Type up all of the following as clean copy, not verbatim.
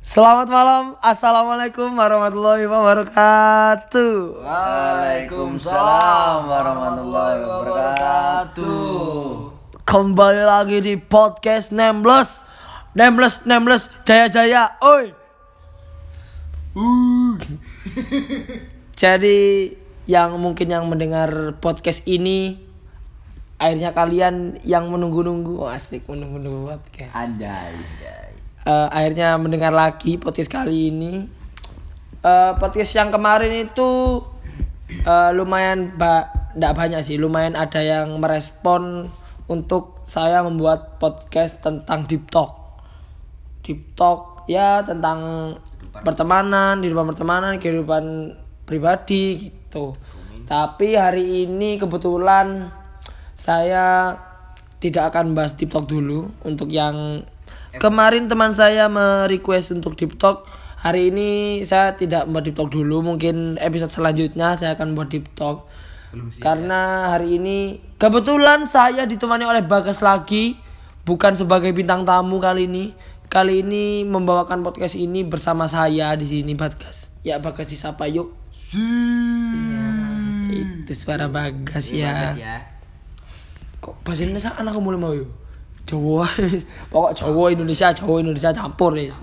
Selamat malam, assalamualaikum warahmatullahi wabarakatuh. Waalaikumsalam warahmatullahi wabarakatuh. Kembali lagi di podcast Nembles Jaya Jaya, oi. Jadi yang mungkin yang mendengar podcast ini, akhirnya kalian yang menunggu-nunggu, asik menunggu-nunggu podcast. Anjay. Akhirnya mendengar lagi podcast kali ini. Podcast yang kemarin itu lumayan nggak banyak sih, lumayan ada yang merespon untuk saya membuat podcast tentang deep talk ya, tentang pertemanan, kehidupan pribadi gitu. Tapi hari ini kebetulan saya tidak akan bahas deep talk dulu. Untuk yang kemarin teman saya merequest untuk deep talk, hari ini saya tidak membuat deep talk dulu. Mungkin episode selanjutnya saya akan buat deep talk. Karena hari ini kebetulan saya ditemani oleh Bagas lagi, bukan sebagai bintang tamu kali ini. Kali ini membawakan podcast ini bersama saya di sini, Bagas. Ya, Bagas disapa yuk. Ya, itu suara Bagas ya. Kok bahasa Indonesia anak mulai mau yuk? Jawa, pokok Jawa Indonesia campur guys.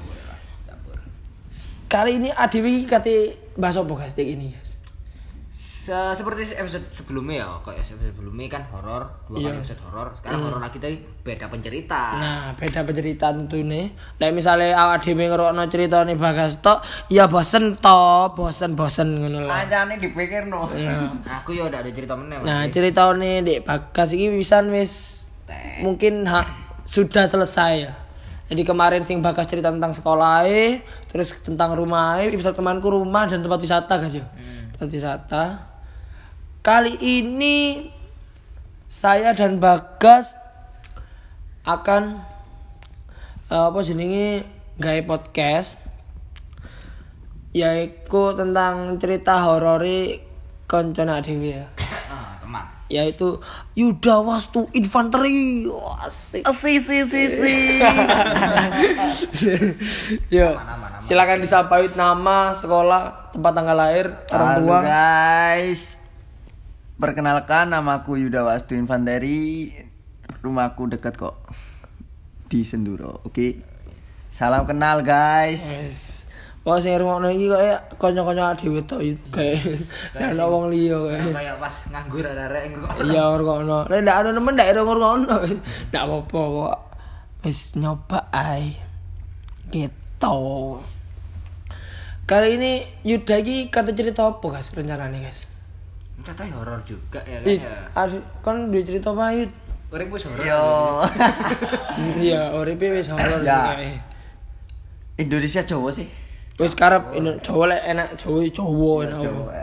Kali ini Adewi kate bahasa apa guys ini guys? Seperti episode sebelumnya ya, kok episode sebelumnya kan horor, dua kali episode horor. Sekarang horor lagi tadi beda pencerita. Nah, beda pencerita tentu ini. Lah misalnya awak dhewe ngrungokno critane Bagas tok, ya bosen ngono lah. Ancane dipikirno. Aku ya ndak ada cerita meneh. Nah, ceritane Dek Bagas iki wisan wis mungkin sudah selesai ya. Jadi kemarin sing Bagas cerita tentang sekolah, terus tentang rumah, episode temanku rumah dan tempat wisata guys ya. Tempat wisata. Kali ini saya dan Bagas akan gawe podcast yaitu tentang cerita horori koncone dhewe ya. Teman. Yaitu Yuda Wastu Infanteri. Asik. Yo. Silakan disapa nama, sekolah, tempat tanggal lahir, orang tua. Halo guys. Perkenalkan, namaku Yuda Wastu Infanteri. Rumahku dekat kok. Di Senduro. Oke. Salam kenal guys. Yes. Wah, sing ngrungokno iki kaya kanca-kanca dhewe tok kayak ana wong liya kayak pas nganggur arek ngrungokno. Iya, ngrungokno. Nek ndak ada nemen ndak ngrungokno. Ndak apa-apa kok. Wis nyoba ae. Gitu. Kali ini Yuda iki kata cerita apa guys rencanane guys? Katanya horor juga ya kan ya. Kan duwe cerita apa Yud? Urip wis horor. Yo. Iya, uripe wis horor ya. Kayak. Indonesia Jawa sih. Wis karep Jawa lek enak Jawa enak.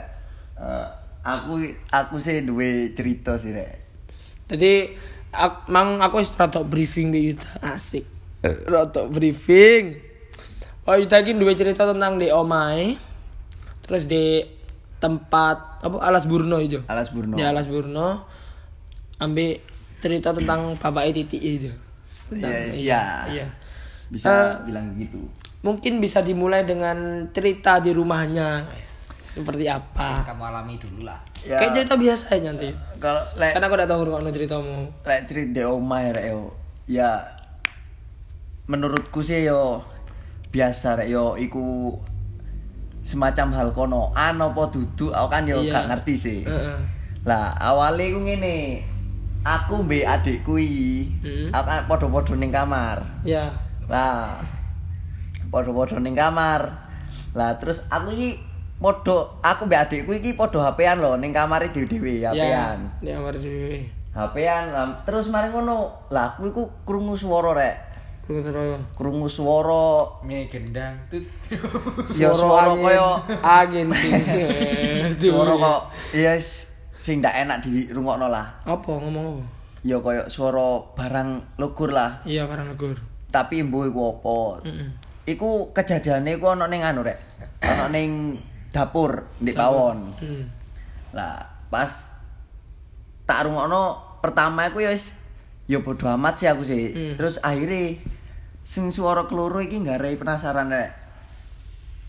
Aku sih duwe cerita sih rek. Jadi aku wis rada briefing di Yuda. Asik. Rada briefing. Oh, Yuda iki duwe cerita tentang di omahe. Terus di tempat apa Alas Burno itu. Alas Burno. Ya, Alas Burno. Ambil cerita tentang bapake Titik itu. Iya. Bisa bilang gitu. Mungkin bisa dimulai dengan cerita di rumahnya, guys. Seperti apa? Kamu alami dulu lah. Ya. Kayak cerita biasa aja nanti. Kalau karena aku udah tahu ngrungokno ceritamu. Lek cerita di omah rek yo. Ya menurutku sih yo biasa rek yo iku semacam hal konoan apa dudu aku kan yo gak ngerti sih. Lah awalnya iku ngene. Aku mbek adikku iki, aku kan padha-padha ning kamar. Iya. Lah padha-padha ning kamar. Lah terus aku mbek adikku iki padha HP-an lho ning kamare dhewe-dhewe HP-an. Ning kamar dhewe. HP-an terus mari ngono. Lah aku iku krungu swara rek. Krungu swara gendang tut. Ya swara koyo angin sing. Swara kok ya sing ndak enak dirungokno lah. Apa ngomong apa? Ya koyo swara barang lugur lah. Iya, barang lugur. Tapi mbuh iku apa? Iku kejadiane iku ana ning anu rek. Ana ning dapur ndek pawon. Lah pas tak rungokno pertama iku ya wis ya bodo amat sih aku sih. Terus akhirnya sing suara keloro iki nggarai penasaran rek.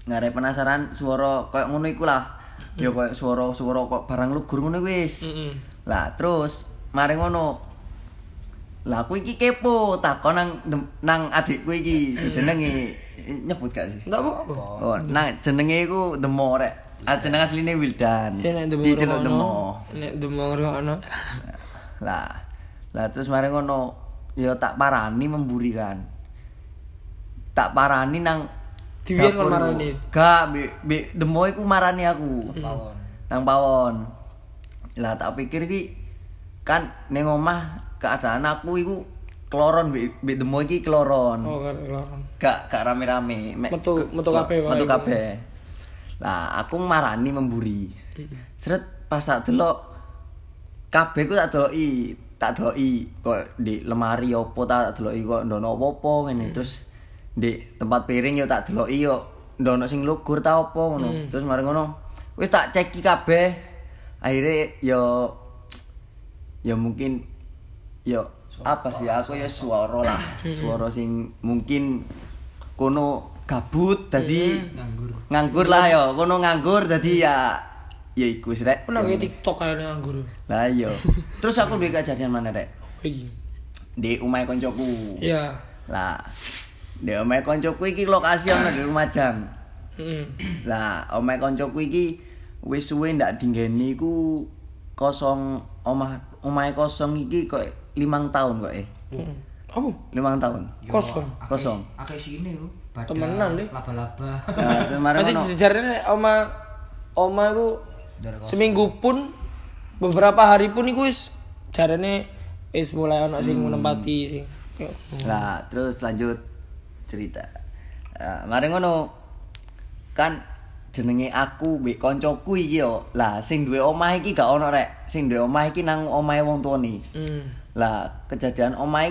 Ngarep penasaran swara koyo ngono iku lah. Ya koyo swara kok barang lugur ngono wis. Lah terus mari ngono. Lah aku iki kepo takon nang adikku iki jenenge nyebut gak sih? Enggak apa-apa. Oh, nang jenenge iku Demo rek. Jeneng asline Wildan. Ya nek Diceluk Demo. Nek Demo ngono. Lah terus mari ngono ya tak parani memburi kan. Tak parani nang Diwiyen kon marani. Gak, Demo iku marani aku. Pawon. Nang pawon. Lah tak pikir iki kan ning omah keadaan aku iku kloron mbek Demo iki kloron. Oh, kloron. Gak rame-rame. Metu kabeh wae. Metu kabeh. Lah aku marani memburi. Sret pas tak delok kabeh ku tak deloki kok di lemari opo tak deloki kok ndono opo ngene terus di tempat piring yo tak deloki yo ndono sing lugur ta opo ngono. Terus mari ngono wis tak ceki kabeh. Akhire yo mungkin yo apa sih aku ya swara lah. Swara sing mungkin kono gabut dadi nganggur lah yo. Kono nganggur dadi ya iku wis rek. Ono nge TikTok kayane nganggur. Lah iya. Terus aku duwe kejadian mana rek? Iki. Di omahe koncoku. Iya. Lah di omahe koncoku iki lokasi ana di Lumajang. Lah omahe koncoku iki wis suwe ndak dinggeni iku kosong omahe kosong iki kok 5 tahun kok Apa? 5 tahun. Kosong. Akeh sini yo. Temenan deh. Laba-laba. Nah, kemarin Pasti ono. sejarahnya oma iku seminggu pun beberapa hari pun iku wis jarane wis mulai ono sing menempati sing. Lah, terus lanjut cerita. Mari ngono. Kan jenenge aku mbek koncoku iki yo. Lah, sing duwe omah iki gak ono rek. Sing duwe omah iki nang omahe wong tuane. Lah, kejadian omah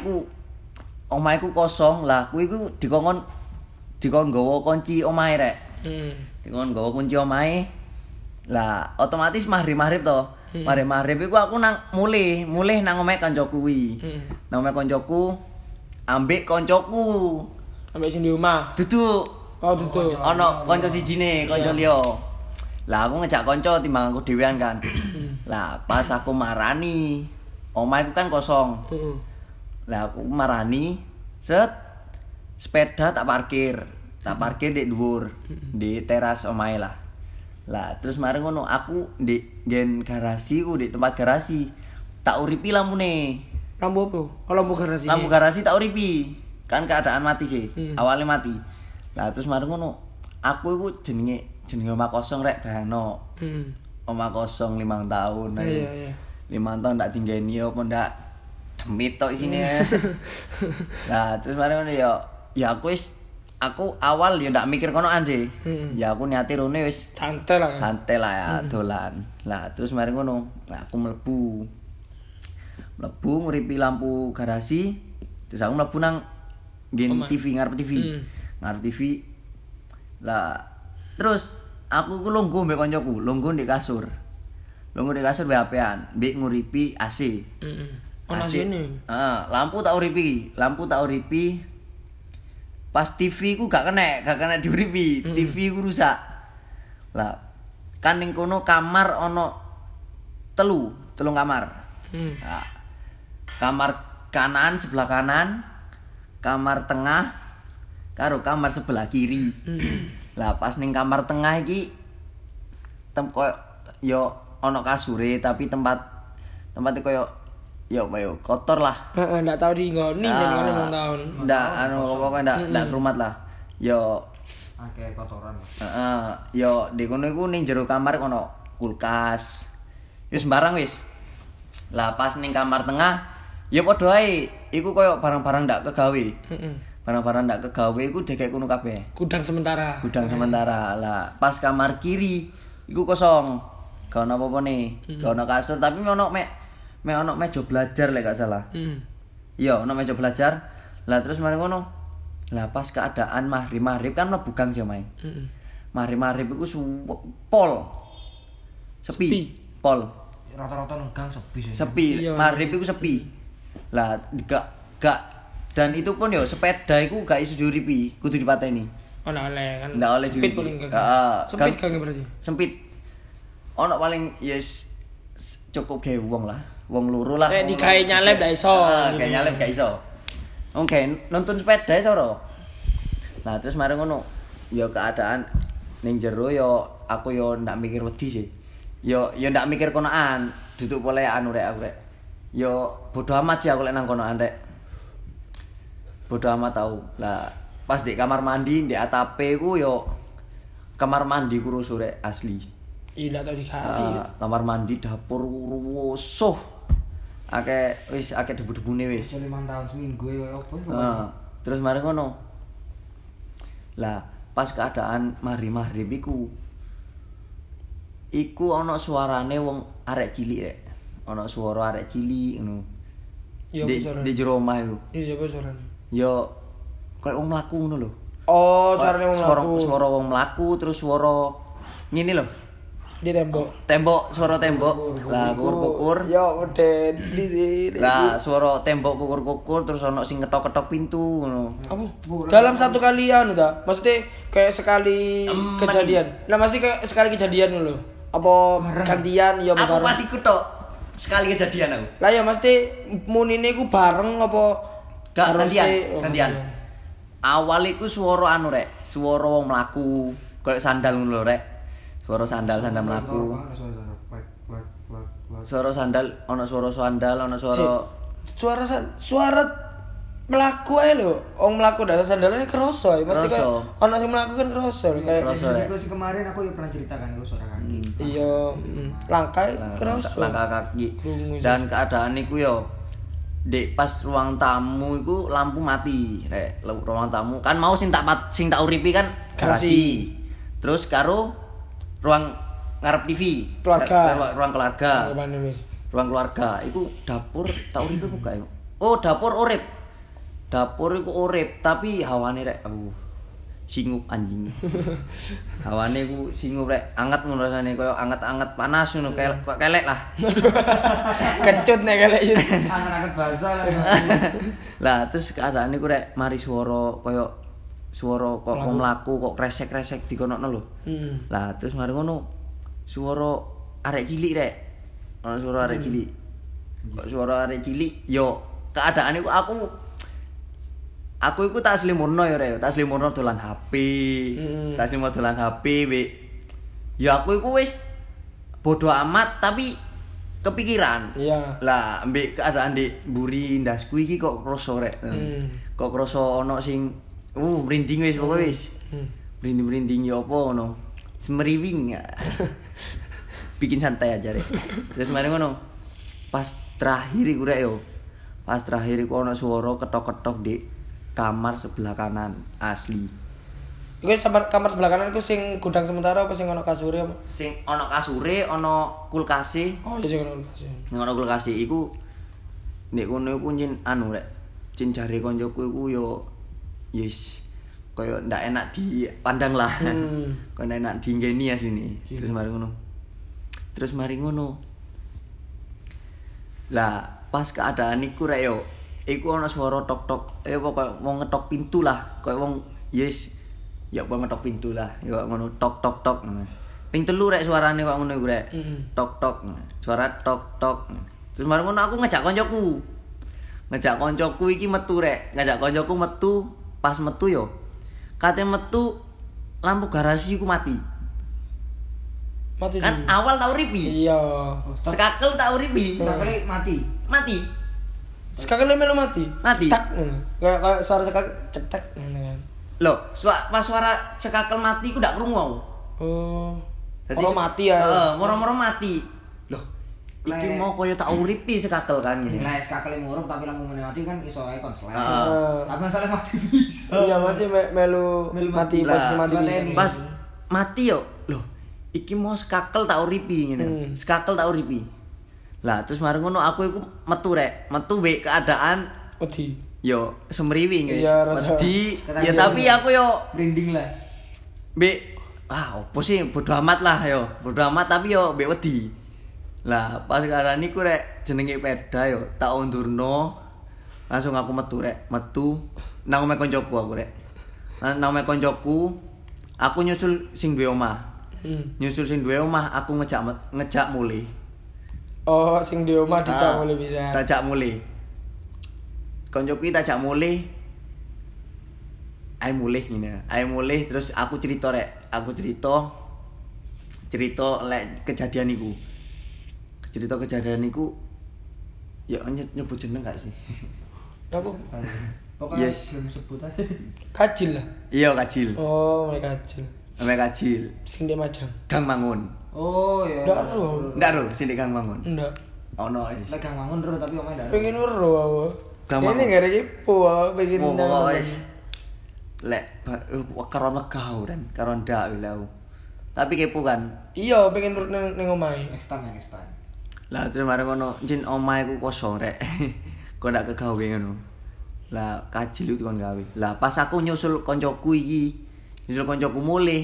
iku kosong. Lah, kuwi iku dikon nggawa kunci omahe rek. Dikon nggawa kunci omahe. Lah, otomatis maghrib to. Maghrib iku aku nang mulih nang omahe kancaku kuwi. Nang omahe kancaku ambek kancaku. Ambek sing di omah. Duduk. Oh, duduk. Ono kanca sijine, kanca liya. Lah aku ngejak kanca timbang aku dhewean kan. Lah pas aku marani, omahku kan kosong. Lah aku marani, sepeda tak parkir di dhuwur, di teras omahe lah. Lah terus mari ngono aku di gen garasi ku di tempat garasi. Tak uripi lampune. Lampu apa? Oh, lampu garasi. Lampu garasi tak uripi. Kan keadaan mati sih. Awalnya mati. Lah terus mari ngono aku iku jenenge omah kosong rek bayangno. Omah kosong 5 tahun. Iya. 5 tahun ndak tinggeni opo ndak demit tok isine. Lah terus mari ngono ya aku awal ya ndak mikir konoan sih. Ya aku niate rene wis santai lah ya dolan. Lah terus mari ngono aku mlebu nguripi lampu garasi. Terus aku mlebu nang nggen TV ngarep TV. Ngarep TV. Lah terus aku ku lungguh mbek koncoku, lungguh di kasur. Lungguh di kasur HP-an, mbek nguripi AC. Ono sini. Lampu tak uripi. Pas TV ku gak kena diuripi. TV ku rusak. Lah kan ning kono kamar ono telung kamar. Nah, kamar kanan sebelah kanan, kamar tengah karo kamar sebelah kiri. Lah pas ning kamar tengah iki koyo yo ono kasure tapi tempatnya koyo yo kotor lah. Heeh, ndak tau dinggoni jenenge wong taun. Ndak pokoknya ndak rumat lah. Yo Akeh kotoran. Yo di kono iku ning jero kamar kono kulkas. Wis sembarang wis. Lah pas ning kamar tengah ya padha ae iku koyo barang-barang ndak kegawe. Barang-barang ndak kegawe iku dekek kono kabeh. Gudang sementara. Lah pas kamar kiri iku kosong. Gak ono apa-apa nih. Gak ono kasur tapi ono ono meja belajar lek gak salah. Iya, ono meja belajar. Lah terus mari ngono. Lah pas keadaan maghrib kan mlebu gang sih omahe. Maghrib iku pol. Sepi. Pol. Rata-rata nang gang sepi sih. Sepi. Maghrib iku sepi. Lah gak dan itu pun yo sepeda iku gak iso diuripi, kudu dipateni. Oh, nggak oleh kan. Nggak oleh Sempit diundi. paling gang. Heeh, Sempit gang- gang berarti. Sempit. Ono paling cukup gawe wong lah. Wong loro lah. Kayak digawe nyalep ndak iso. Kayak nyalep gak iso. Oke, nonton sepeda iso ro. Nah, terus mari ngono. Ya keadaan ning jero yo aku yo ndak mikir wedi sih. Yo ndak mikir konoan, duduk boleh anu rek aku rek. Yo bodo amat sih aku lek nang konoan rek. Bodo amat tau. Lah pas di kamar mandi di atape ku yo kamar mandi ku rusuh rek asli. Iya ndak tau digawe. Kamar mandi dapur rusuh. Wis akeh debu-debune wis. 5 tahun seminggu ya apa itu. Terus mari ngono. Lah, pas keadaan maghrib iku ana suarane wong arek cilik rek. Ana suara arek cilik ngono. Iya, Di jero omah iku. Iya, apa suarane? Ya koyo wong mlaku ngono lho. Oh, suarane wong mlaku. Suara wong mlaku terus suara ngene lho. Di tembok. Suara tembok. Lah kukur-kukur. Ya udah di. Lah suara tembok kukur-kukur terus ana sing ketok-ketok pintu ngono. Apa? Dalam satu kali anu ta? Maksudnya kayak sekali kejadian. Nah, mesti kayak sekali kejadian lho. Apa gantian ya Aku bareng? pas iku tok sekali kejadian aku. Lah ya mesti munine iku bareng apa Gak harus gantian. Awal iku swara anu rek, swara wong mlaku, koyo sandal ngono lho rek. Swara sandal mlaku. Swara sandal, ana swara sandal, ana swara suara mlaku ae lho. Wong mlaku ndak sandalane kroso ya. Mesti kayak ana sing mlaku kan kroso kayak kroso rek. Itu sih kemarin aku ya pernah ceritakan itu suara kaki. iya, langkah kroso. Langkah kaki. Dan keadaan iku yo pas ruang tamu iku lampu mati rek. Ruang tamu kan mau sing tak uripi kan garasi. Terus karo ruang ngarep TV, Keluarga. ruang keluarga. Apa nih, Mis? Ruang keluarga iku dapur tak uripi buka yo. Oh, dapur urip. Dapur iku urip tapi hawane rek singup anjing. Hawane ku singup rek, anget ngono rasane koyo anget-anget panas ngono kelek lah. Kecut nek kelek iki. Anget-anget basah lah. Lah terus keadaan iku rek mari swara koyo swara kok mlaku kok kresek-kresek dikonokno lho. Lah terus mari ngono swara arek cilik rek. Ana swara arek cilik. Kok swara arek cilik yo keadaan iku aku iku tak slimurno ya rek, tak slimurno dolan HP. Tak slimurno dolan HP we. Ya aku iku wis bodo amat tapi kepikiran. Iya. Lah ambek keadaan di mburi ndasku iki kok kroso rek. Kok kroso ana sing merinding wis pokoke wis. Merinding ya apa ngono. Semeriwing ya. Bikin santai aja rek. Terus mari ngono. Pas terakhir iku rek yo. Pas terakhir iku ana swara ketok-ketok di kamar sebelah kanan asli. Iku kamar sebelah kanan iku sing gudang sementara apa sing ana kasure apa? Sing ana kasure, ana kulkase. Oh, iya sing ana kulkase. Sing ana kulkase iku nek kono iku nyen anu rek. Cin jare koncoku iku yo yes koyo ndak enak dipandang lah. Koyo ndak enak dinggeni asline. Terus mari ngono. Lah, pas keadaan iku rek yo iku ana swara tok-tok, pokok mau ngetok pintu lah, koyo wong yes. Ya wong ngetok pintu lah, ya ngono tok-tok-tok. Ping 3 rek suarane kok ngono iku rek. Tok-tok. Suara tok-tok. Terus mari ngono aku ngajak koncoku. Ngajak koncoku iki metu rek. Ngajak koncoku metu, pas metu yo. Kate metu lampu garasi iku mati. Mati. Kan awal tak uripi. Iya. Sekakel tak uripi. Sekali mati. Mati. Sekali melu mati. Mati. Tak ngono. Kayak suara sekali cetek ngono kan. Loh, pas suara sekakel mati ku ndak krungu. Oh. Dadi Moro mati ya. Heeh, moro-moro mati. Loh, iki mau koyo tak uripi sekakel kan ngene. Lah sekali murup tapi lampu mati kan iso ae konslet. Heeh. Tapi masalah mati bisa. Iya, mati melu mati pas mati bisa. Pas mati yo. Loh, iki mau sekakel tak uripi ngene. Sekakel tak uripi. Lah terus mari ngono aku iku metu rek. Metu wek keadaan wedi. Yo semriwing guys. Iya, rasa. Wedi. Ya tapi aku yo Branding lah. Mbek opo sih bodo amat lah yo. Bodo amat tapi yo mbek wedi. Lah pas keadaan iku rek jenenge peda yo tak undurno. Langsung aku metu rek, metu nang omahe koncoku aku rek. Namanya koncoku, aku nyusul sing duwe omah. Nyusul sing duwe omah, aku ngejak mulih. Oh, sing di omah dijak mulih bisa. Tajak mulih. Koncoku iki tajak mulih. Ayo mulih ngene. Ayo mulih terus aku cerita rek. Aku cerita lek kejadian iku. Cerita kejadian iku ya nyebut jeneng gak sih? Apa? Pokoknya Yes. belum sebut aja. Kajil lah. Iya kacil. Oh, mereka kajil. Namanya kacil. Sing di Majang. Gang Mangun. Oh iya. Ndak ero. Ndak ro, sing di Gang Mangun. Ndak. Ono wis. Lek Gang Mangun ro tapi omae ndak. Pengen weruh aku. Gampang. Ini gara kipo aku pengen Oh, nang. wis. Lek karo legau dan karo ndak wile aku. Tapi kepo kan. Iya, pengen weruh ning omahe. Next time. Lah terus mari ngono, jin omahe ku kosong rek. Kok ndak kegawe ngono. Lah kajil itu kan gawe. Lah pas aku nyusul koncoku iki, nyusul koncoku mulih.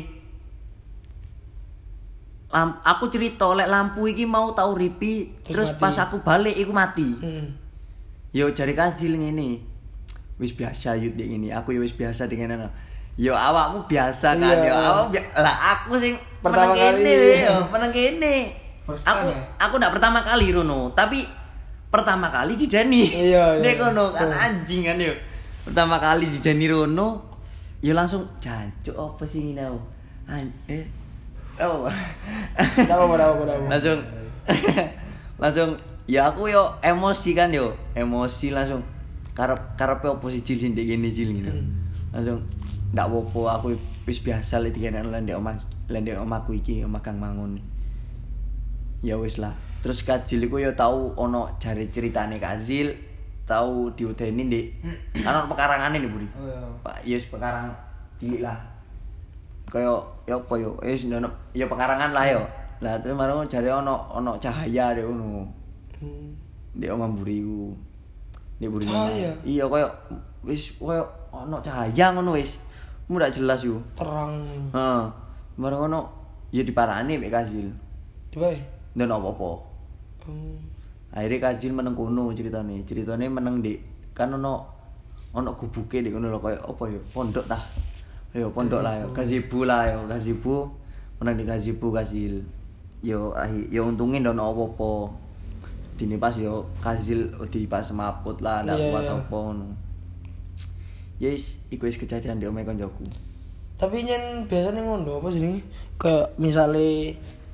Aku cerita lek lampu iki mau tau ripi, terus mati. pas aku balik iku mati. Yo jari kajil ngene. Wis biasa yut dek ngene. Aku yo wis biasa dengan ana. Yo awakmu biasa kan Iya. yo. Lah aku sing Pertama meneng kali. kene yo, meneng kene. First time, ya? Aku ndak pertama kali Rono, tapi pertama kali di Dani. Iya, iya. Nek kono kan anjing kan yo. Pertama kali di Dani Rono, yo langsung jancuk apa sih ini aku. Oh. Dawa. Langsung ya aku yo emosi kan yo. Emosi langsung karepe opo sih Cil sing ndek kene Cil gitu. Langsung ndak apa-apa aku wis biasa lek dikenan lan ndek omahku iki omah Kang Mangun. Ya wis lah. Terus Kajil iku yo tau ono jare ceritane Kajil, tau diudeni ndek kan ono pekarangane nih Budi. Oh iya. Pak yes pekarang cilik lah. Kaya ya apa yo wis ono ya pekarangan lah yo. Lah terus marang jare ono cahaya dek ngono. Ndek omah mburiku. Ndek mburi. Cahaya? Iya kaya wis kaya ono cahaya ngono wis. Mu ndak jelas yo. Terang. Heeh. Marang ngono ya diparani mek Kajil. Dibae. Dan apa-apa. Akhirnya Kajil meneng kono ceritane. Ceritane meneng Dik. Kan ono gubuke Dik ngono lho koyo apa ya? Pondok tah. Yo pondok lah yo. Gazebo lah yo. Gazebo. Meneng di gazebo Kajil. Yo untungin ndak ono apa-apa. Dine pas yo Kajil di pas semaput lah ndak Iya, kuat iya. apa ngono. Yes, iku wis kejadian di omahe koncoku. Tapi nyen biasanya ngono apa sih? Kayak misale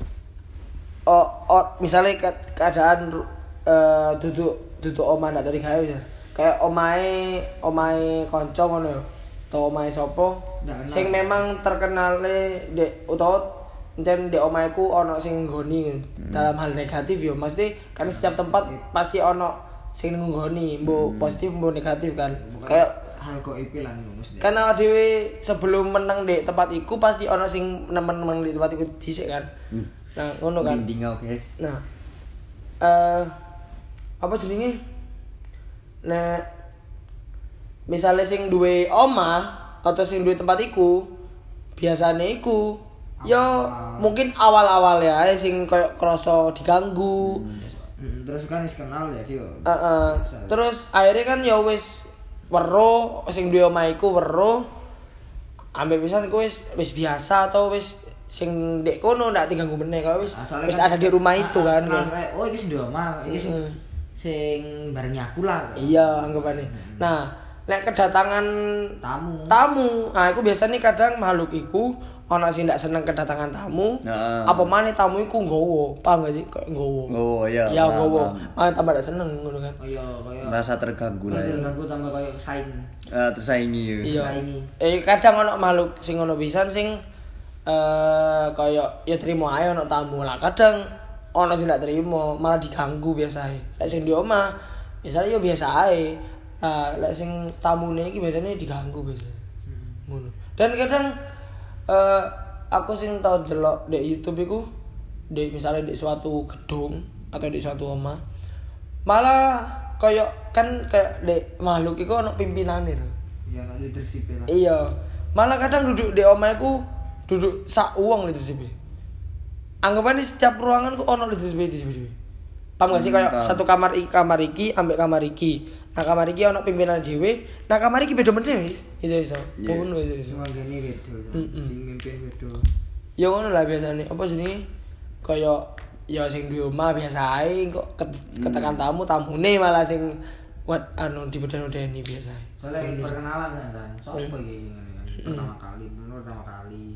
misalnya keadaan duduk omah ndak tadi gawe ya. Kayak omahe kanca ngono ya. Atau omahe sapa Ndak kenal. sing memang terkenale ndek utawa encen ndek omaheku ana sing nggoni dalam hal negatif ya. Mesti kan setiap tempat pasti ana sing nggoni, mbok positif mbok negatif kan. Kayak hal gaib lan mesti. kan awak dhewe sebelum menang di tempat iku pasti ana sing nemen-nemen di tempat iku dhisik kan. Nah, ngono kan. Dingau guys. Nah, apa jenenge? Nah, misalnya sing duwe omah atau sing duwe tempat iku, biasane iku ya mungkin awal-awal ya sing koyo krasa diganggu. Terus kan wis kenal ya dia. Terus akhirnya kan ya wis weruh sing duwe omah iku weruh. Ambek pisan ku wis biasa atau wis sing ndek kono ndak diganggu meneh kok wis Soalnya wis kan- ada di rumah itu kan. Kayak, oh iki sing di omah, iki sing bareng aku lah. Iya, anggapane. Nah, nek kedatangan Tamu. nah aku biasanya kadang makhluk iku ana sing ndak seneng kedatangan tamu. Heeh. Apa maneh tamu iku nggowo, paham gak sih? Kayak nggowo. Oh iya. Ya paham, nggowo. paham. Malah tambah ndak seneng ngono kan. Oh iya, kaya Merasa terganggu lah ya. aku tambah kaya saing. Tersaingi ya. Iya. Saingi. Kadang ana makhluk sing ngono pisan sing kaya ya trimo ae ana tamu lah. Kadang ana sing ndak trimo, malah diganggu biasae. Lek sing di omah biasanya ya biasa ae. Nah, lek sing tamune iki biasanya diganggu biasa. Ngono. Dan kadang aku sing tau delok di YouTube iku misalnya di suatu gedung atau di suatu omah malah kayak di makhluk iku ana pimpinane lho. Iya, nek leadership lah. Iya. Malah kadang duduk di omahku duduk sak uang leadership. Anggapane setiap ruangan ku ono leadership. Paham gak sih kayak satu kamar iki ambek kamar iki. Nah kamar iki ono pimpinan dhewe, nah kamar iki beda meneh wis. Iso. Ngono wis. Cuma gini beda. Sing mimpin beda. Ya ngono lah biasane. Apa jenenge? Kayak ya sing duwe omah biasa ae kok ketekan tamune malah sing dibeden-bedeni biasa. Soalnya perkenalan kan. Sopo iki pertama kali, dua kali.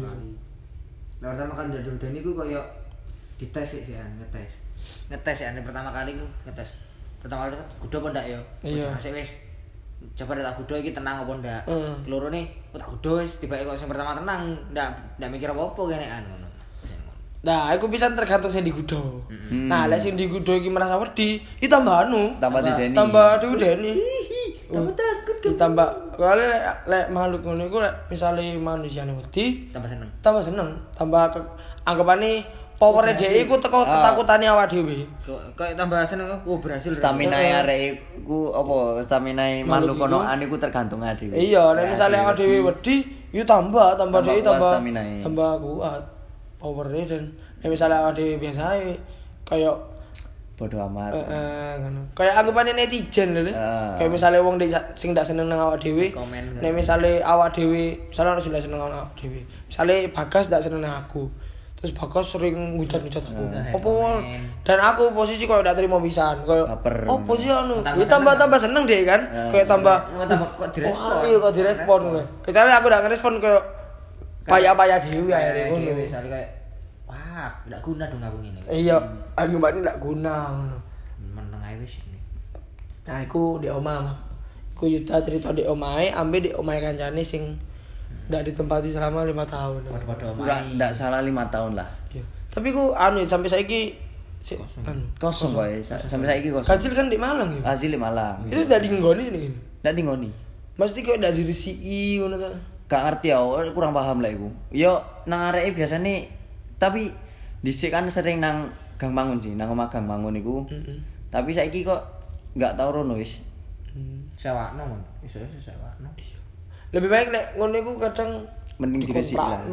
Lah pertama kali jadi iku koyo dites sih ngetes ya pertama kali ku ngetes. Pertama kali kan kudu apa ndak ya? Iya. Wis. Coba tak kudu iki tenang apa ndak. Kelorone tak kudu wis tibake kok sing pertama tenang, ndak mikir apa-apa kenekan ngono. Nah, aku bisa tergantung sing digudo. Nah, lek sing digudo iki merasa wedi, iki tambah tambah dideni. Tambah diudeni. Tambah takut ditambah kali lek makhluk ngono iku lek misale manusiane wedi, Tambah seneng. Tambah anggapane power dhewe iku teko ketakutane awak dhewe. Kayak tambah seneng berhasil. Stamina arek iku apa? Stamina makhluk konoan iku tergantung dhewe. Iya, nek misale awak dhewe wedi, yo tambah dhewe tambah kuat. Power-e dan nek misale awak dhewe biasa ae kayak bodo amat. Ngono. Kayak anggapane netizen lho. Kayak misale wong sing ndak seneng nang awak dhewe. Nek misale awak dhewe, misale ono sing ndak seneng nang awak dhewe. Misale Bagas ndak seneng nang aku. Terus Bagas sering hujat-hujat aku. Apa dan aku posisi koyo ndak terima pisan, koyo opo sih anu. Ya tambah seneng deh kan. Kayak tambah kok direspon. Oh, iya kok direspon ngono. Kecuali aku ndak ngerespon koyo payah-payah dhewe ae ngono. Misale kayak wah, ndak guna dong aku ngene. Iya, anggapane ndak guna ngono. Meneng ae wis. Nah, iku di omah. Iku Yuda cerita di omahe, ambe di omahe kancane sing ndak ditempati selama 5 tahun. Kurang ndak salah 5 tahun lah. Iya. Tapi ku sampai saiki kosong kok sampai saiki kosong. Kacil kan di Malang ya. Hasil di Malang. Itu ndak dinggoni ini. Ndak tinggoni. Mesti kok ndak diresiki ngono ta. Gak ngerti ya, kurang paham lah iku. Yo nang areke biasane tapi dhisik kan sering nang Gang Mangun sih, nang omah Gang Mangun iku. Tapi saiki kok gak tau rono wis. Sewakno mon. Iso sewakno. Lebih baik nek ngono iku kadang mending diresiki lah.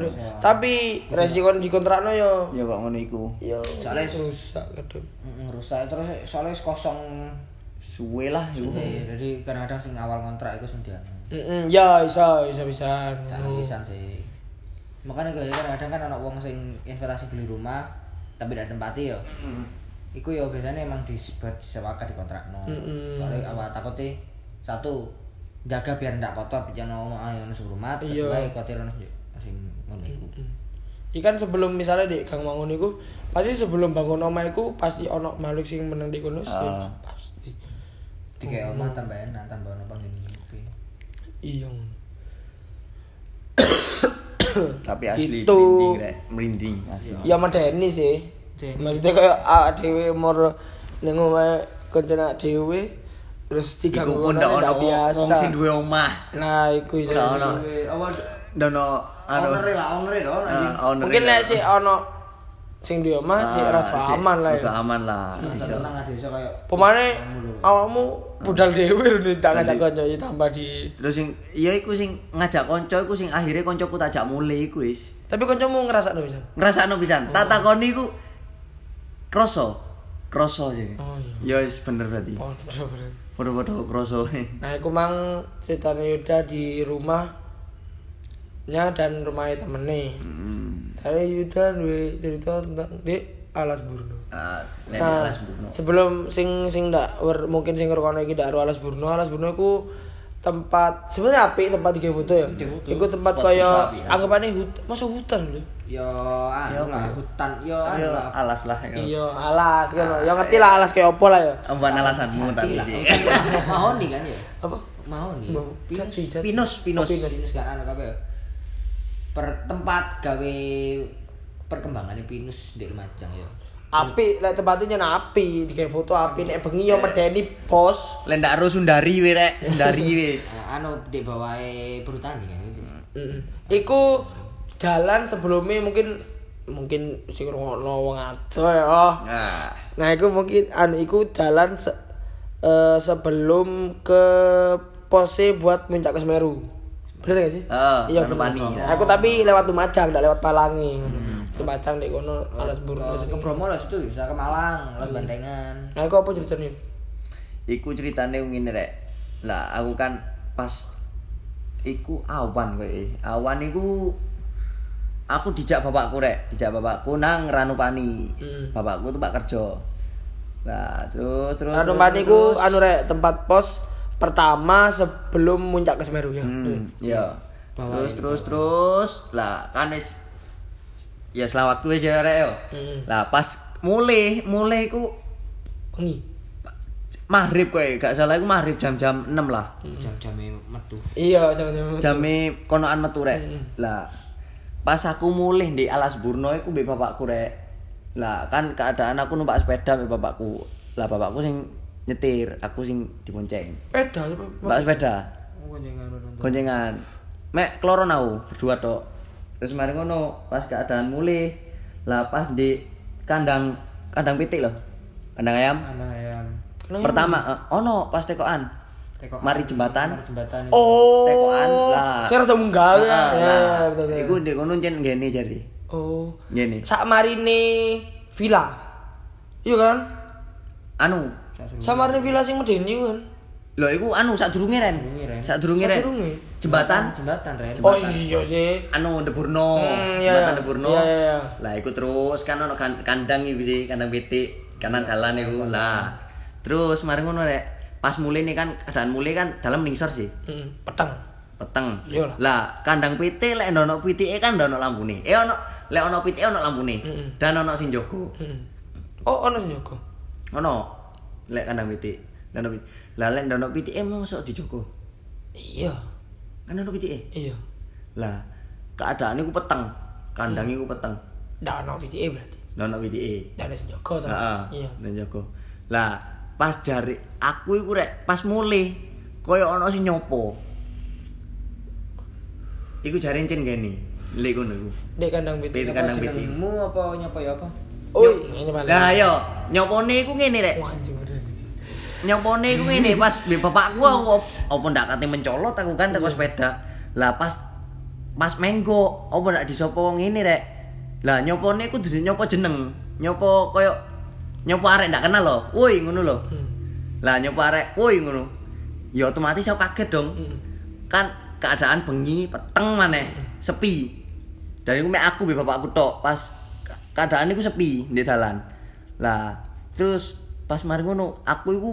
Tapi resiko dikontrakno yo. Ya kok ngono iku. Yo soalnya rusak kadang. Rusak terus soalnya kosong suwe lah iku. Jadi kadang-kadang sing awal kontrak iku sing dia. Ya bisa. Bisa sih. Makanya kadang-kadang kan anak wong sing investasi beli rumah tapi tidak tempati ya. Iku ya biasanya emang disewakan di kontrakno. Soalnya awak takutnya satu jaga biar ndak kotor biar ono rumah kedua kotor ono sing ngono iku. Ikan sebelum misalnya di Gang Mangun iku pasti sebelum bangun omah iku pasti ono makhluk sing meneng di kono pasti. Tiga omah tambah ono pengen. Iya. Tapi asli gitu. merinding asli. Ya medeni sih. Maksudnya kayak dhewe umur ning omahe kancane dhewe terus diganggu ngono ndak biasa. Wong sing duwe omah. Nah, iku iso. Ono apa dono owner dong. Mungkin lek sik ono sing duwe omah sik rada aman lah. Rada aman lah. Iso. Tenang aja iso kayak pemane awakmu budal dhewe lho tak ngajak kanca tambah di. Terus sing iya iku sing ngajak kanca iku sing akhire kancaku tak jak mulai iku wis. Tapi kancamu ngrasakno pisan. Ngrasakno pisan. Tak takoni iku kroso sih. Oh iya. Ya wis bener berarti. Oh, bener. Podo-podo kroso. Nah, iku mang ceritane Yuda di rumahnya dan rumahnya temene. Saya Yuda duwe cerita tentang di Alas Burno. Nah, Alas Burno. Sebelum sing ndak mungkin sing ngrungokno iki ndak Alas Burno. Alas Burno iku tempat sebenarnya apik tempat digawe foto ya. Iku tempat kaya anggapane masa hutan lho. Yo lah hutan yo alas lah. Iya, alas kan. Ya ngerti lah alas kayak opo lah ya. Bukan alasanmu tapi sih. Mahoni kan ya? Apa? Mahoni. Pinus kan anu kabeh. Per tempat gawe perkembangan pinus di Lumajang ya. Api, lek tempatnya api, digawe foto api nek bengi yo medeni bos. Lek ndak ro Sundari we rek, Sundari wis. Anu di bawahe Perhutani kan. Iku jalan sebelumnya mungkin sing ngono wong ado ya. Nah, iku mungkin iku jalan sebelum ke pose buat puncak ke Semeru. Bener gak sih? Iya bener. Aku tapi lewat Lumajang, enggak lewat Palangi. Kemacang di kono Alas Burno ke Bromo lah situ bisa ke Malang lewat Bandengan. Nah iku apa ceritanya? Iku ceritane ngene rek. Lah aku kan pas iku awan kowe. Awan iku aku dijak bapakku nang Ranupani. Bapakku tuh Pak kerja. Nah, terus Ranupani iku anu rek tempat pos pertama sebelum muncak ke Semeru ya. Iya. Terus lah kan wis ya selawatku wis ya rek yo. Lah pas mulai iku Wengi. Maghrib kowe, gak salah iku maghrib jam-jam 6 lah. Jam-jame metu. Iya, jam-jam. Jame konoan metu rek. Lah pas aku mulih di Alas Burno iku mbek bapakku rek. Lah kan keadaan aku numpak sepeda mbek bapakku. Lah bapakku sing nyetir, aku sing dibonceng. Mbak sepeda. Goncengan. Mek kloron aku berdua tok. Terus mari ngono, pas keadaan mulih. Lah pas di kandang pitik loh. Kandang ayam. Pertama ono pas tekoan. Mari jembatan. Oh. Tekoan lah. Saya rada munggah ya. Iku ndek kono ncen ngene jare. Oh. Ngene. Sak marine villa. Iya kan? Anu, Sak marine villa sing medeni kan. lho iku anu sadurunge Ren. Sadurunge Ren. Jembatan Ren. Oh iya sih. Anu Deburno. Iya, Jembatan Deburno. Iya. Lah iku terus kan ono kandang iki sih, kandang pitik, kanan dalan iku. Lah terus mari ngono rek. Pas mulai nih kan keadaan mulai kan dalam ningsor sih. Peteng. Iyalah. Lah kandang pitik lek ono pitike kan ono lampune. Ono lek ono pitike ono lampune. Dan ono sing jaga. Oh ono sing jaga. Ono lek kandang pitik. Lah lek ono pitike mosok dijogo. Iya. Kan ono pitike. Iya. Lah keadaan iku peteng. Kandang iku peteng. Ndak ono pitike berarti. Ndak ono pitike. Ndak ada sing jaga to. Iya. Dan jaga. Lah pas jari aku iku rek pas mulih koyo ono sing nyopo. Iku jare encen gene. Lek ngono iku. Dek kandang pitik. Kandang pitik. Mu apa nyopo ya apa? Oh, ini paling. Lah yo, nyopone iku ngene rek. Wah anjing bener. Nyopone iku ngene pas mbek bapakku aku apa ndak kate mencolot aku kan teko sepeda. Lah pas menggo apa ndak disopo ngene rek. Lah nyopone iku dudu nyopo jeneng. Nyopo koyo nyopo arek ndak kenal lho. Woi ngono lho. Lah nyopo arek, woi ngono. Ya otomatis aku kaget dong. Kan keadaan bengi peteng maneh, sepi. Dan iku mek aku mbek bapakku tok pas keadaan iku sepi di dalan. Lah terus pas mari ngono aku iku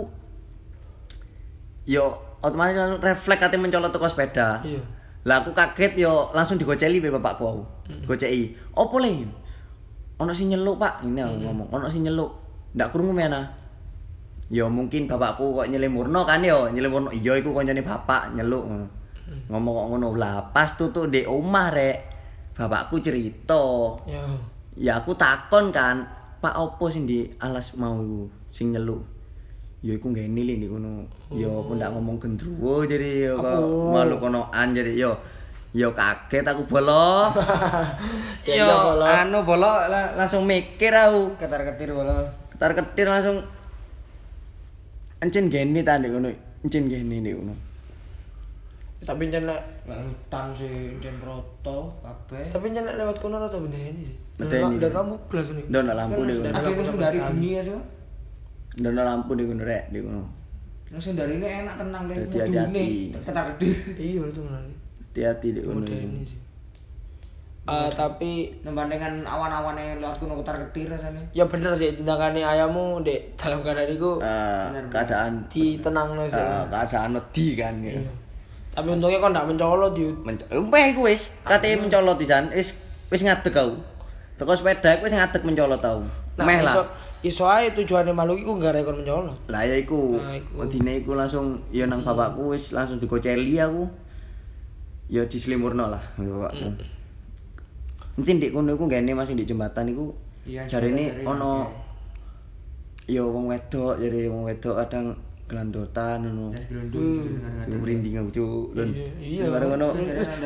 yo otomatis langsung refleks ate mencolot teko sepeda. Iya. Lah aku kaget yo langsung digoceli mbek bapakku aku. Goceki. Opo le? Ono sing nyeluk, Pak. Ini aku ngomong, ono sing nyeluk. Ndak krungu mena. Yo mungkin bapakku kok nyelimurno kan yo, nyelimurno. Iya iku koncone bapak nyeluk ngono. Ngomong kok ngono. Lah pas tutuk ndek omah rek. Bapakku cerita. Ya. Ya aku takon kan, Pak opo sing di alas mau iku sing nyeluk. Ya iku ngene lho ndek kono. Ya apa ndak ngomong gendruwo jadi ya malu konoan jadi yo. Yo kaget aku bolo. Yo anu bolo langsung mikir aku. Ketar-ketir bolo. Ketar-ketir langsung encen gene ta ndek kono. Encen gene ndek kono. Tapi jan nek hutan sih den roto kabeh. tapi jan nek lewat kono rada bendeni sih. Bendeni. Dan lampu blas nih. Ndono lampu ndek kono. Akhirnya langsung dari bengi ya so. Ndono lampu ndek kono rek ndek kono. Langsung dari ini enak tenang deh. Hati-hati. Ketar-ketir. Iya itu benar. Hati-hati ndek kono. Bendeni sih. Tapi Membandingkan awan-awan yang lewat kuno ketar-ketir rasanya. ya bener sih tindakannya ayahmu dek dalam keadaan itu Keadaan ditenangno sih. keadaan wedi kan ya. Tapi untungnya kok ndak mencolot yut. Umpeh iku wis kate mencolot pisan, wis ngadeg aku. Teko sepeda iku wis ngadeg mencolot tau. Meh lah. Iso ae tujuane makhluk iku gak rekon mencolot. Lah ya iku. Wedine iku langsung ya nang bapakku wis langsung digoceli aku. Ya dislimurno lah bapakku. Mungkin ndek kono iku ngene masih ndek jembatan iku jarene ono ya wong wedok, jare wong wedok kadang gelandotan ngono. Merinding aku cuk. Iya. Bareng ngono.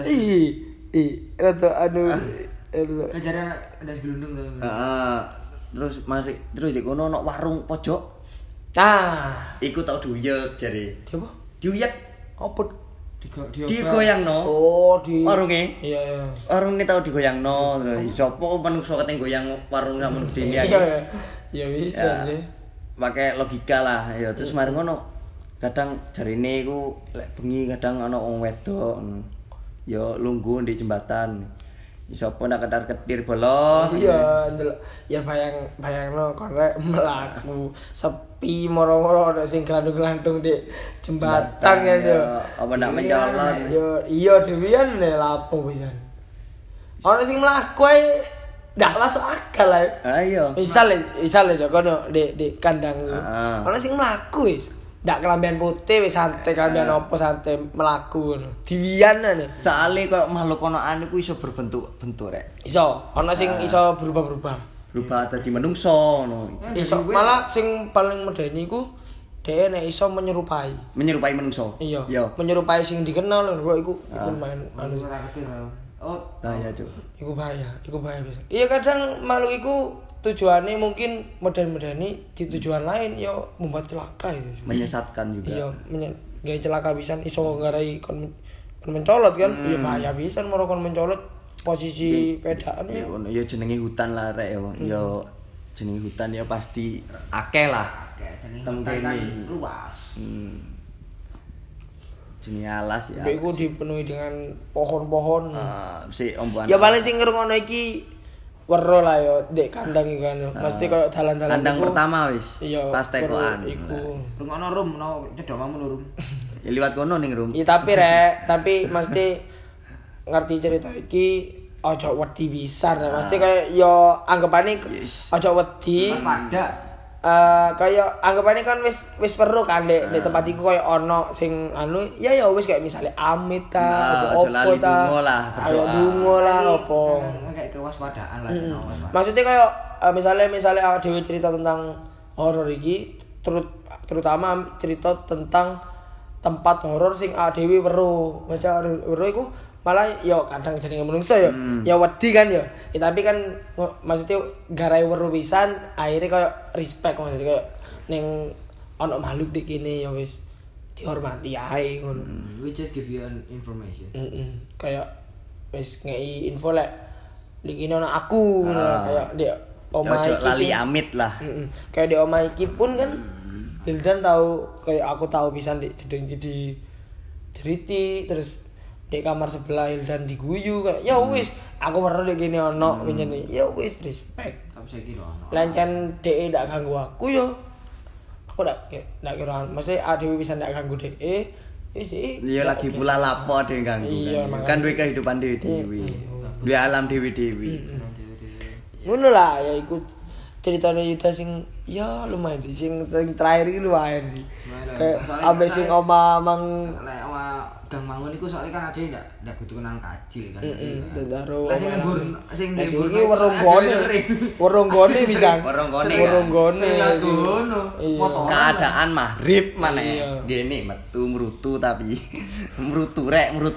Rada anu Kejadian ada gelundung tuh. Heeh. Terus di kono ono warung pojok. Nah, Iku tau duyek jare. coba Duyek opo digoyangno. Oh, di warunge. Iya. Warunge tau digoyangno. Sopo manungsa keteng goyang warung samun gedene iki. Iya. Ya bisa sih. Pakai logika lah ya terus mari ngono. Kadang jarine iku lek bengi kadang ana wong wedok ya lungguh di jembatan. Sopo nak ketar-ketir bolos. Iya, ya bayangno korek mlaku sepi moro-moro ana sing glandung-glandung di jembatan ya yo. Apa ndak mencolot. Yo iya dhewean lapo pisan. Ana sing mlaku ae ndak masuk akal ae. Ayo. Misal kono di kandang itu. Ana sing mlaku wis. Ndak kelambian putih wis santai kelambian opo santai mlaku ngono. Diwian-an. Soale koyo makhluk konoan iku iso berbentuk rek. Iso, ana sing iso berubah-berubah. Berubah dadi menungso ngono. Iso malah sing paling medeni iku dhek nek iso menyerupai menungso. Iya. Menyerupai sing dikenal lho iku main anu. Oh, bahaya cuk. Iku bahaya bisa. Iya kadang makhluk iku tujuannya mungkin modern-moderni di tujuan lain ya membuat celaka itu. Menyesatkan juga. Iya, gaya celaka pisan iso ngarai kon mencolot kan. Iya bahaya pisan moro kon mencolot posisi pedaan ya. Ya jenenge hutan lah rek ya. Ya jenenge hutan ya pasti akeh lah. Jenenge hutan kan luas. Jenenge alas ya. Iku dipenuhi dengan pohon-pohon. Si omboan. Ya paling sing ngrungokno iki wero lah yo dek kandang iku kan. Mesti koyo dalan-dalan kandang iku. Pertama wis. Iya, Pas tekoan. Iku. Rungokno rum no cedomamu rum. Ya liwat kono ning rum. Iya tapi mesti ngerti cerita iki ojo wedi pisan. Mesti kayak yo anggapane ojo wedi. Pada Kaya anggapane kan wis perlu kan di tempat iku koyo ono sing anu ya wis kayak misalnya amit ta opo ta ayo dungo lah opo kayak kewaspadaan lah maksudnya kayak misalnya awake dhewe cerita tentang horor iki terutama cerita tentang tempat horor sing awake dhewe weruh maksudnya weruh iku malah yo kadang jenenge menungso yo ya wedi kan yo tapi kan maksudnya garai weruh pisan akhirnya koyo respect maksudnya koyo ning ono makhluk dik kene ya wis dihormati ae ngono we just give you an information kayak wis ngei info lek iki ono aku kayak di omah iki lali amit lah kayak di omah iki pun kan Hildan tahu kayak aku tahu pisan di jedeng di ceriti terus di kamar sebelah Hildan diguyu kayak ya wis aku perlu dek gini ono pinjene ya wis respect tapi saya kira ono lancen DE ndak ganggu aku yo aku ndak kira mesti adewe bisa ndak ganggu DE wis DE iya lagi pula lapo dhewe ganggu kan duwe kehidupan dhewe duwe alam dhewe ngono lah ya iku ceritane Yuda sing ya lumayan sih sing terakhir iki lumayan sih kayak ambek sing oma mang lek gang mangun iku soalnya kan ade ndak butuh kenal kacil kan. Tentaro. Lah sing nggur iki weronggone bisa. Weronggone. Keadaan maghrib maneh. Ngene metu mrutu tapi mrutu.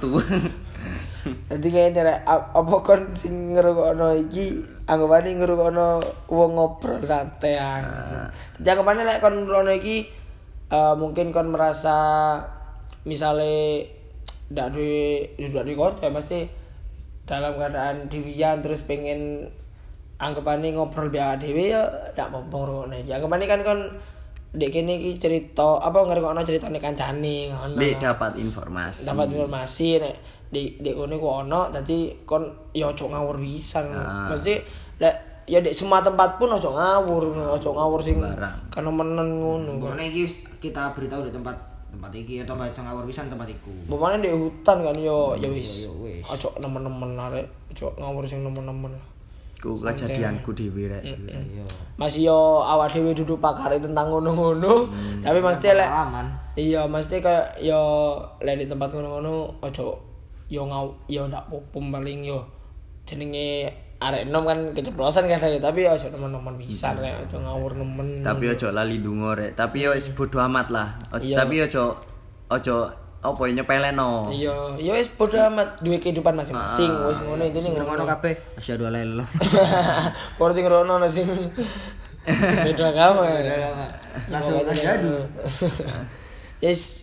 Dadi kene rek apa kon sing ngrungokno iki anggapane ngrungokno wong ngobrol santai ae. Janggapane lek kon ngrungokno iki mungkin kon merasa misale ndak duwe konco pasti dalam keadaan dewian terus pengen anggapane ngobrol biasa dhewe ya ndak apa-apa ngono iki. Anggapane kan kon dek kene iki cerita apa ngrungokno ceritane kancane ngono. Dapat informasi nek di kono ku ono dadi kon ya ojo ngawur pisan. Mesti lek ya di semua tempat pun ojo ngawur sing kan menen ngono. Ngono iki kita beritahu di tempat iki atau baca ngawur pisan tempat iku. Pemane di hutan kan yo ya wis. Ojo nemen-nemen arek, ojo ngawur sing nemen-nemen. Ku kejadianku dhewe rek. Masih yo awak dhewe duduk pakar tentang ngono-ngono, tapi mesti lek iya mesti kayak yo lek di tempat ngono-ngono ojo yo ndak popom paling yo jenenge arek enom kan keceplosan kan tapi ojo nemen-nemen bisa rek ojo ngawur nemen. Tapi ojo lali ndonga rek. Tapi yo wis bodo amat lah. Tapi ojo apa nyepeleno. Iya, ya wis bodo amat duwe kehidupan masing-masing. Wis ngono intine ngono kabeh. Asyhadu alla ilaha illallah. Ora sing ngono sing beda agama. Langsung asyhadu. Yes.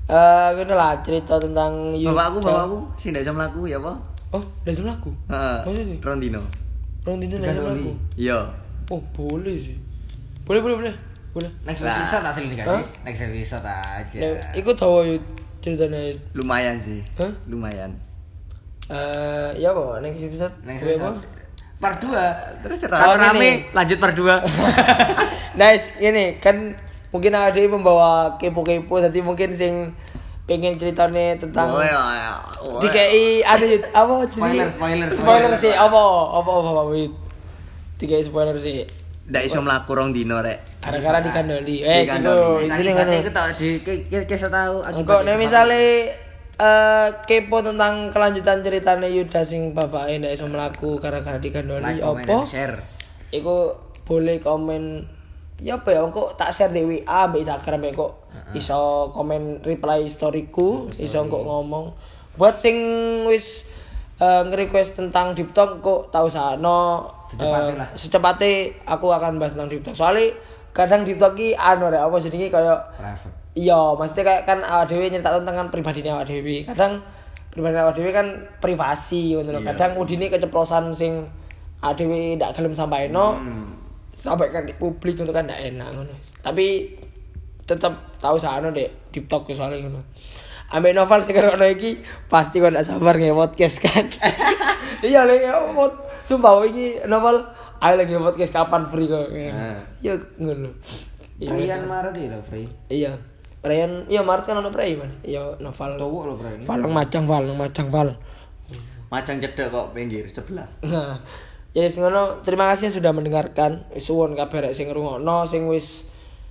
Ngono lah cerita tentang Bapakku sing ndak iso mlaku ya apa? Oh, ndak iso mlaku. Heeh. Maksudnya? Rondino. Rondino ndak iso mlaku. Iya. Oh, boleh sih. Boleh. Next episode asli dikasih. Next episode aja. Iku tahu yuk ceritanya. Lumayan sih. Hah? Lumayan. Ya apa? Next episode. Part 2. Terserah. Kalau Kalau rame lanjut part 2. Nice, ini kan mungkin ada yang membawa kepo-kepo, jadi mungkin sing pengen ceritanya tentang DKI ada apa? Spoiler sih apa wait. DKI spoiler sih. Ndak iso mlaku rong dino rek. Gara-gara dikandoli. Dikandoli. Ini kan. Iku tak kisah tahu. Engko nek misale kepo tentang kelanjutan ceritanya Yuda sing bapake ndak iso mlaku gara-gara dikandoli opo? Share. Iku boleh komen ya apa ya engko tak share di WA mbek Instagram kok iso komen reply storyku, iso engko ngomong. Buat sing wis nge-request tentang Deep Talk kok tak usahno secepatnya aku akan bahas tentang Deep Talk. Soalnya kadang Deep Talk ki rek apa jenenge kaya Private. iya, maksudnya kayak kan awak dhewe nyeritakno tentang pribadine awak dhewe. Kadang pribadi awak dhewe kan privasi ngono lho. Kadang udine keceplosan sing awak dhewe ndak gelem sampaino. Sampai kan di publik itu kan ndak enak ngono. Tapi tetep tahu sano dek Deep Talk soalnya ngono. Ambek novel sing karo iki pasti kok ndak sabar nge podcast kan. Iya lek sumpah iki novel ayo lagi podcast kapan free kok. Ya ngono. Perayaan Maret itu free. Iya. Perayaan iya Maret kan ono perayaan. Iya novel. Tuwuk lho perayaan. Val. Macang cedek kok pinggir sebelah. Nah, ya yes, ngono. Terima kasih yang sudah mendengarkan. Suwun kabeh rek sing ngrungokno sing wis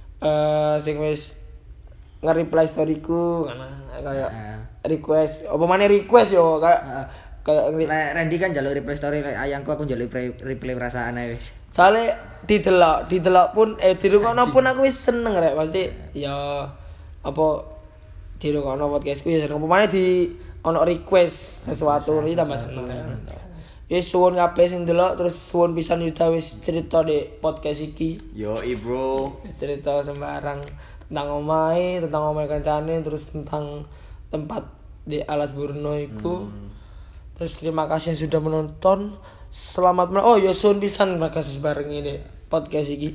nge-reply storyku ngono kayak request. Apa maneh request yo kayak Randy kan njaluk reply story ayangku aku njaluk reply perasaan ae wis. Soale didelok pun dirungokno pun aku wis seneng rek pasti ya apa dirungokno podcastku ya seneng. Apa maneh di ono request sesuatu iki tambah seneng. Ya suwun kabeh sing delok terus suwun pisan Yuda wis cerita di podcast iki. Yo bro. Cerita sembarang tentang omahe kancane terus tentang tempat di Alas Burno iku. Terus terima kasih yang sudah menonton. Selamat oh ya suwun pisan makasih bareng ini podcast iki.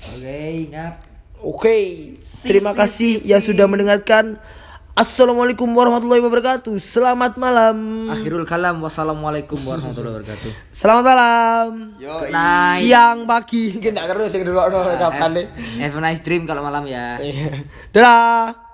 Oke. Terima kasih yang sudah mendengarkan. Assalamualaikum warahmatullahi wabarakatuh. Selamat malam. Akhirul kalam. Wassalamualaikum warahmatullahi wabarakatuh. Selamat malam. Good night. Siang pagi. Nggak ngerti sing ndelokno kapan. Have a nice dream kalau malam ya. Dadah.